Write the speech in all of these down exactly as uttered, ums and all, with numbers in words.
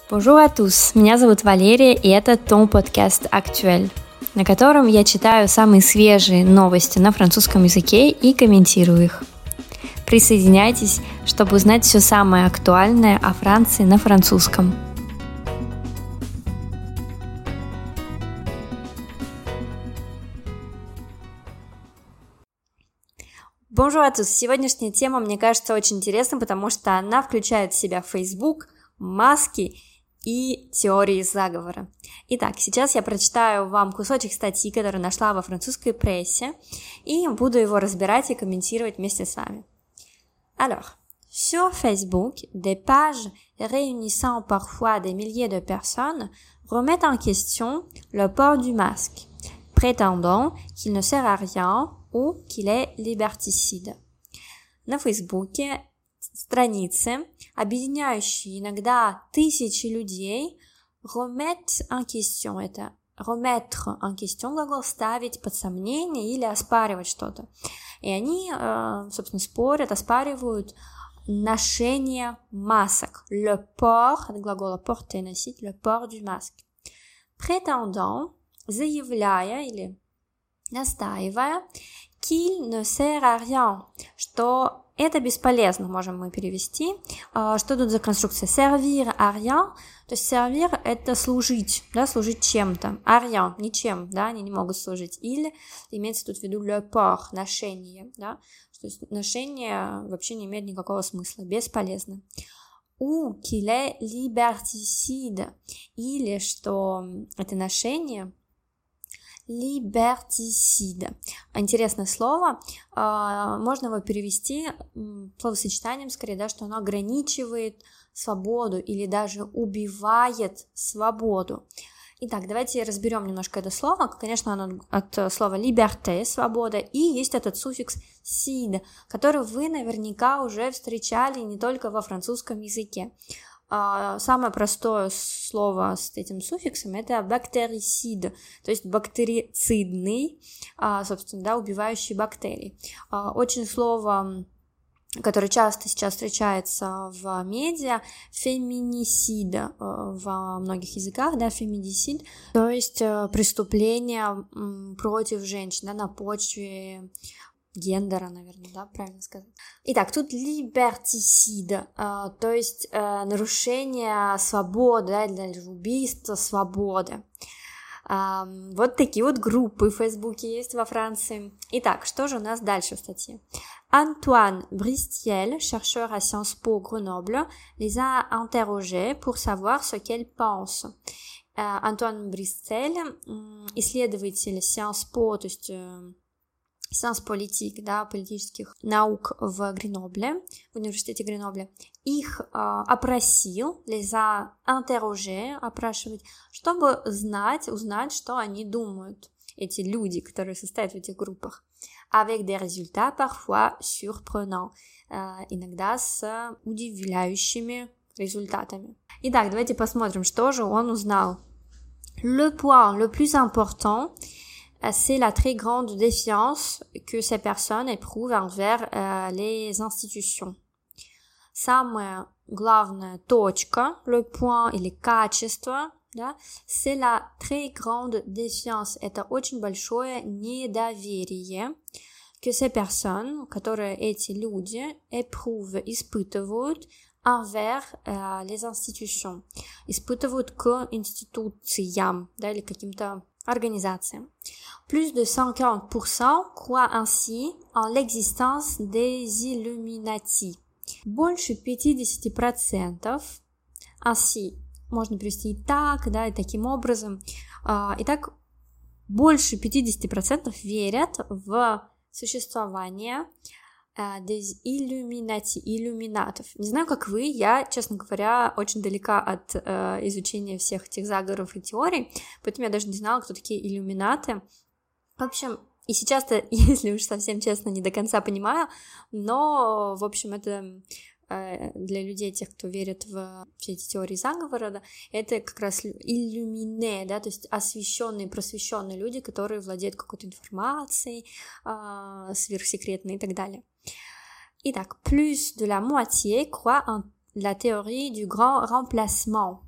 Bonjour à tous, меня зовут Валерия, и это Ton Podcast Actuel, на котором я читаю самые свежие новости на французском языке и комментирую их. Присоединяйтесь, чтобы узнать все самое актуальное о Франции на французском. Bonjour à tous. Сегодняшняя тема, мне кажется, очень интересна, потому что она включает в себя Facebook, маски и теории заговора. Итак, сейчас я прочитаю вам кусочек статьи, которую нашла во французской прессе, и буду его разбирать и комментировать вместе с вами. Alors, sur Facebook, des pages réunissant parfois des milliers de personnes remettent en question le port du masque, prétendant qu'il ne sert à rien ou qu'il est liberticide. На Фейсбуке страницы, объединяющие иногда тысячи людей, remettre en question, это remettre en question, глагол ставить под сомнение или оспаривать что-то. И они, собственно, спорят, оспаривают ношение масок. Le port, от глагола porter, носить, le port du masque. Prétendant, заявляя или настаивая, qu'il ne sert à rien, что это бесполезно, можем мы перевести. Что тут за конструкция? Servir à rien, то есть servir — это служить, да, служить чем-то. À rien, ничем, да, они не могут служить. Или имеется тут в виду le port, ношение, да, то есть ношение вообще не имеет никакого смысла, бесполезно. Ou qu'il est liberticide, или что это ношение liberticide. Интересное слово, можно его перевести словосочетанием, скорее, да, что оно ограничивает свободу или даже убивает свободу. Итак, давайте разберем немножко это слово. Конечно, оно от слова liberté, свобода, и есть этот суффикс cide, который вы наверняка уже встречали не только во французском языке. Самое простое слово с этим суффиксом — это бактерицид, то есть бактерицидный, собственно, да, убивающий бактерии. Очень слово, которое часто сейчас встречается в медиа, феминисид во многих языках, да, феминисид, то есть преступление против женщин, да, на почве гендера, наверное, да, правильно сказать. Итак, тут liberticide, э, то есть э, нарушение свободы, да, или даже убийство свободы. Э, вот такие вот группы в Фейсбуке есть во Франции. Итак, что же у нас дальше в статье? Антуан Бристиель, chercheur à Sciences Po Grenoble, les a interrogés pour savoir ce qu'elles pensent. Э, Антуан Бристиель, исследователь Sciences Po, то есть э, Sciences политик, да, политических наук в Гренобле, в университете Гренобля, их э, опросил, les a interrogés, опрашивать, чтобы знать, узнать, что они думают, эти люди, которые состоят в этих группах, avec des résultats parfois surprenants, э, иногда с удивляющими результатами. Итак, давайте посмотрим, что же он узнал. Le point le plus important, c'est la très grande défiance que ces personnes éprouvent envers euh, les institutions. Самая главная точка, le point или качество, да, c'est la très grande défiance. Это очень большое недоверие, que ces personnes, которые эти люди éprouvent, испытывают envers euh, les institutions. Испытывают к институциям, да, или каким-то организациям. Plus de cinquante pour cent croient ainsi en l'existence des Illuminati. Больше пятьдесят процентов ainsi, можно перевести и так, да, и таким образом. Итак, больше пятьдесят процентов верят в существование des Illuminati, иллюминатов. Не знаю, как вы, я, честно говоря, очень далека от э, изучения всех этих заговоров и теорий, поэтому я даже не знала, кто такие иллюминаты. В общем, и сейчас-то, если уж совсем честно, не до конца понимаю, но, в общем, это э, для людей, тех, кто верит в все эти теории заговора, да, это как раз иллюмине, да, то есть освещенные, просвещенные люди, которые владеют какой-то информацией, э, сверхсекретной и так далее. Итак, plus de la moitié croit en la théorie du grand remplacement.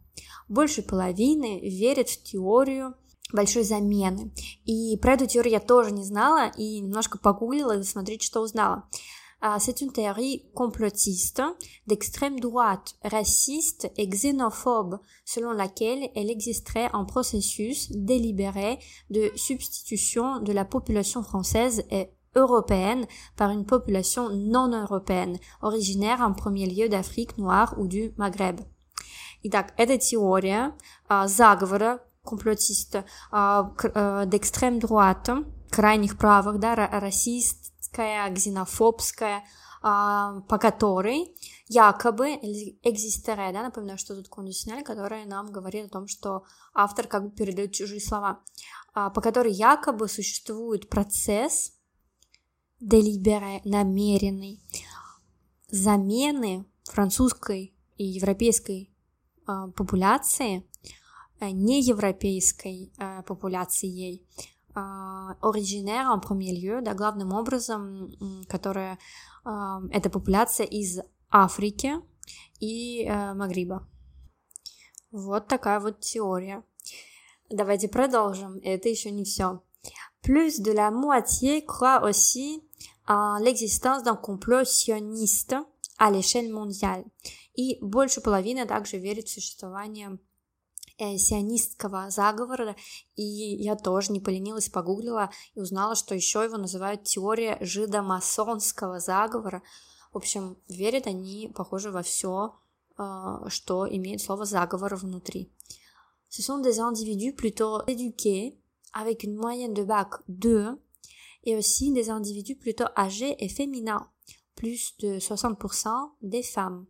больше половины верят в теорию большой замены. И про эту теорию я тоже не знала, и немножко погуглила, и смотрите, что узнала. C'est une théorie complotiste d'extrême droite, raciste et xénophobe, selon laquelle elle existerait un processus délibéré de substitution de la population française et européenne par une population non européenne, originaire en premier lieu d'Afrique noire ou du Maghreb. Итак, это теория а, заговора комплотиста а, к, а, d'extrême droite, крайних правых, да, расистская, ксенофобская, а, по которой якобы экзистере, да, напоминаю, что тут кондициональ, который нам говорит о том, что автор как бы передает чужие слова, а, по которой якобы существует процесс délibéré, намеренный, замены французской и европейской э, популяции э, неевропейской э, популяцией, э, originaire en premier lieu, да, главным образом, э, которая э, это популяция из Африки и э, Магриба. Вот такая вот теория. Давайте продолжим, это еще не все. Plus de la moitié croit aussi en l'existence d'un complot sioniste à l'échelle mondiale. И больше половины также верит в существование э, сионистского заговора. И я тоже не поленилась, погуглила и узнала, что еще его называют теория жидомасонского заговора. В общем, верят они, похоже, во все, э, что имеет слово заговор внутри. Ce sont des individus plutôt éduqués, avec une moyenne de bac deux, et aussi des individus plutôt âgés et féminins, plus de soixante pour cent des femmes.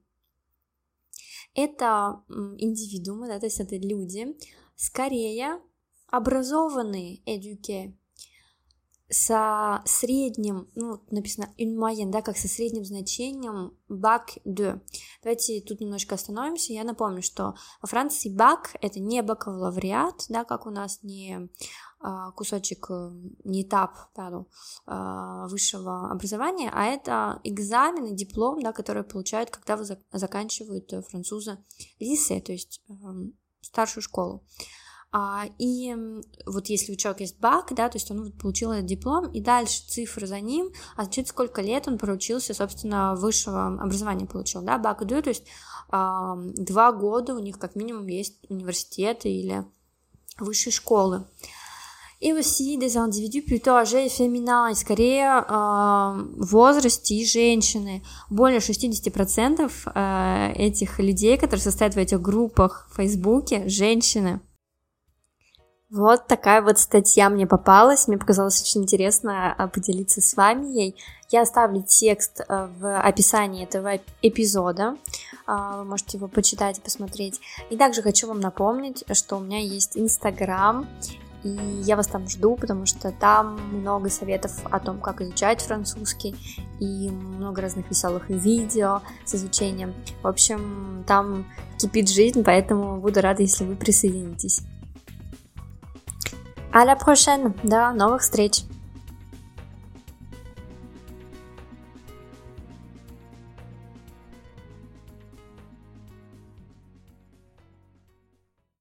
Это индивидуумы, да, то есть это люди, скорее образованные, éduqués, со средним, ну, написано une moyenne, да, как со средним значением bac deux. Давайте тут немножко остановимся. Я напомню, что во Франции bac — это не бакалавриат, да, как у нас, не а, кусочек, не этап, пардon, а, высшего образования, а это экзамен и диплом, да, который получают, когда вы за- заканчивают французы lycée, то есть а, старшую школу. А, и вот если у человека есть бак, да, то есть он получил этот диплом, и дальше цифры за ним, а значит, сколько лет он проучился, собственно, высшего образования получил, да, бак deux, то есть а, два года у них как минимум есть университеты или высшие школы. И aussi des individus plutôt âgés et féminins, и скорее э, в возрасте и женщины. Более шестьдесят процентов э, этих людей, которые состоят в этих группах в Фейсбуке, женщины. Вот такая вот статья мне попалась, мне показалось очень интересно поделиться с вами ей. Я оставлю текст в описании этого эпизода, вы можете его почитать и посмотреть. И также хочу вам напомнить, что у меня есть Инстаграм, и я вас там жду, потому что там много советов о том, как изучать французский, и много разных веселых видео с изучением. В общем, там кипит жизнь, поэтому буду рада, если вы присоединитесь. À la prochaine, до новых встреч!